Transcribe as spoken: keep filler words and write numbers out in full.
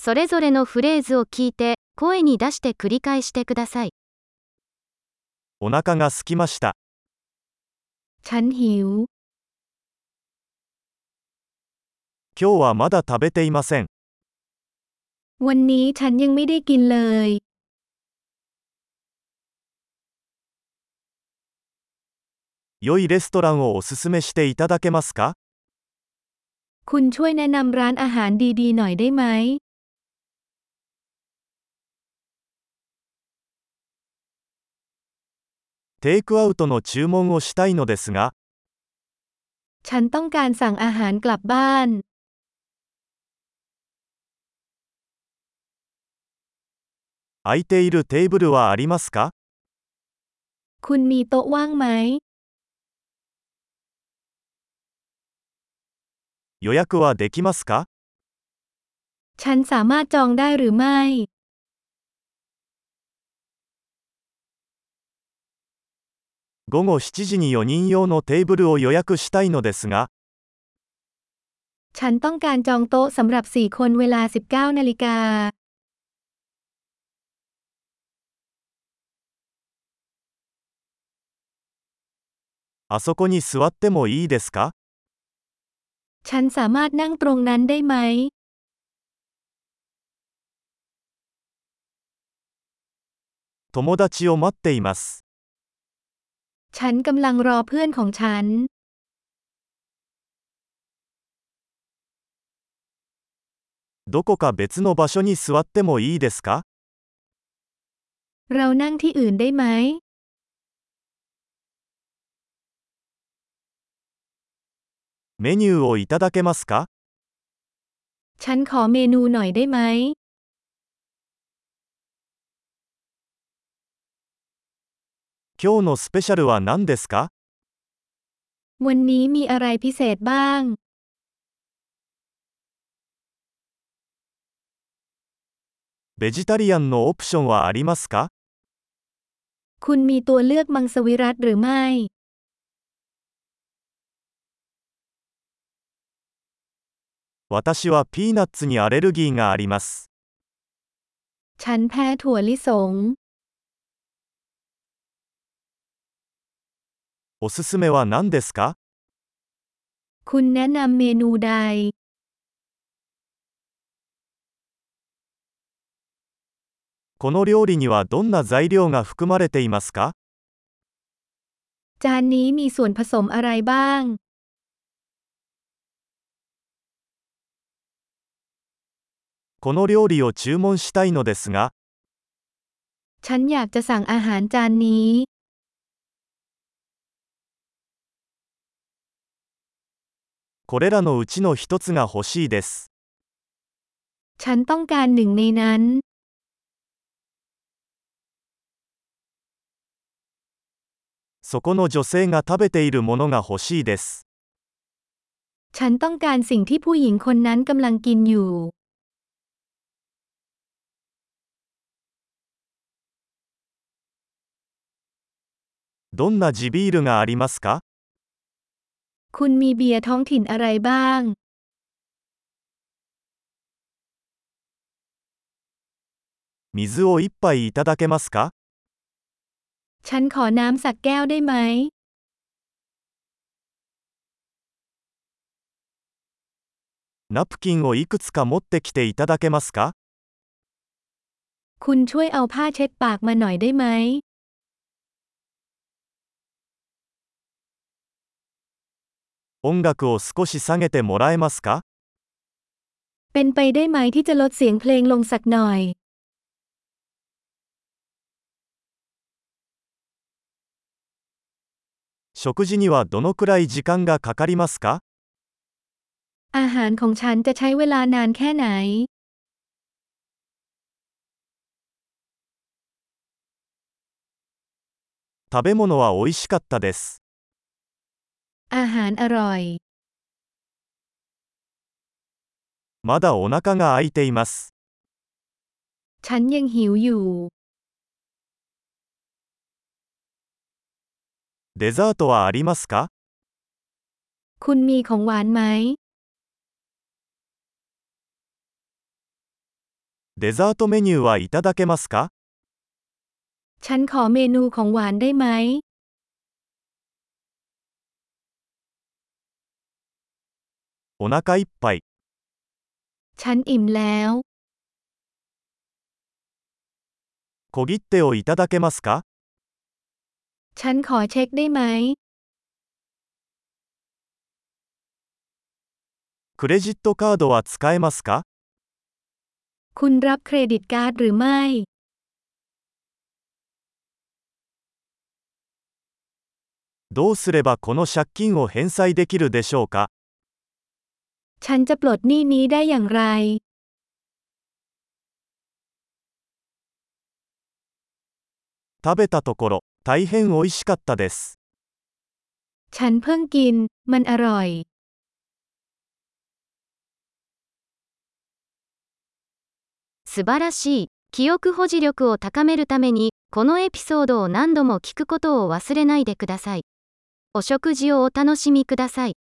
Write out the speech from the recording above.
それぞれのフレーズを聞いて、声に出して繰り返してください。 お腹が空きました。 ฉันหิว今日はまだ食べていません。 วันนี้ฉันยังไม่ได้กินเลย良いレストランをおすすめしていただけますか？ คุณช่วยแนะนำร้านอาหารดีๆหน่อยได้ไหมテイクアウトの注文をしたいのですが、 ฉันต้องการสั่งอาหารกลับบ้าน空いているテーブルはありますか？ คุณมีโต๊ะว่างไหม予約はできますか？ ฉันสามารถจองได้หรือไม่午後しちじによにん用のテーブルを予約したいのですが、 ฉันต้องการจองโต๊ะสำหรับสี่คนเวลา สิบเก้า นาฬิกาあそこに座ってもいいですか？ ฉันสามารถนั่งตรงนั้นได้ไหม友達を待っています。 ฉันกำลังรอเพื่อนของฉันどこか別の場所に座ってもいいですか？ เรานั่งที่อื่นได้ไหมメニューをいただけますか？ ฉันขอเมนูหน่อยได้ไหม今日のスペシャルは何ですか？ วันนี้มีอะไรพิเศษบ้างベジタリアンのオプションはありますか？ คุณมีตัวเลือกมังสวิรัติหรือไม่私はピーナッツにアレルギーがあります。 ฉันแพ้ถั่วลิสงおすすめは何ですか？ คุณแนะนำเมนูใดこの料理にはどんな材料が含まれていますか？ จานนี้มีส่วนผสมอะไรบ้างこの料理を注文したいのですが、 ฉันอยากจะสั่งอาหารจานนี้これらのうちの一つが欲しいです。 ฉันต้องการหนึ่งในนั้นそこの女性が食べているものが欲しいです。 ฉันต้องการสิ่งที่ผู้หญิงคนนั้นกำลังกินอยู่どんな地ビールがありますか？ คุณมีเบียร์ท้องถิ่นอะไรบ้าง水を一杯いただけますか？ ฉันขอน้ำสักแก้วได้ไหมナプキンをいくつか持ってきていただけますか？ คุณช่วยเอาผ้าเช็ดปากมาหน่อยได้ไหม音楽を少し下げてもらえますか？ เป็นไปได้ไหมที่จะลดเสียงเพลงลงสักหน่อย食事にはどのくらい時間がかかりますか？ อาหารของฉันจะใช้เวลานานแค่ไหน食べ物は美味しかったです。 อาหารอร่อยまだお腹が空いています。 ฉันยังหิวอยู่デザートはありますか？ คุณมีของหวานไหมデザートメニューはいただけますか？ ฉันขอเมนูของหวานได้ไหมお腹いっぱい。 ฉันอิ่มแล้ว小切手をいただけますか？ ฉันขอเช็คได้ไหมクレジットカードは使えますか？ คุณรับเครดิตการ์ดหรือไม่どうすればこの借金を返済できるでしょうか？ ฉันจะปลดหนี้นี้ได้อย่างไร食べたところ、大変美味しかったです。 ฉันเพิ่งกิน มันอร่อย素晴らしい。記憶保持力を高めるために、このエピソードを何度も聞くことを忘れないでください。お食事をお楽しみください。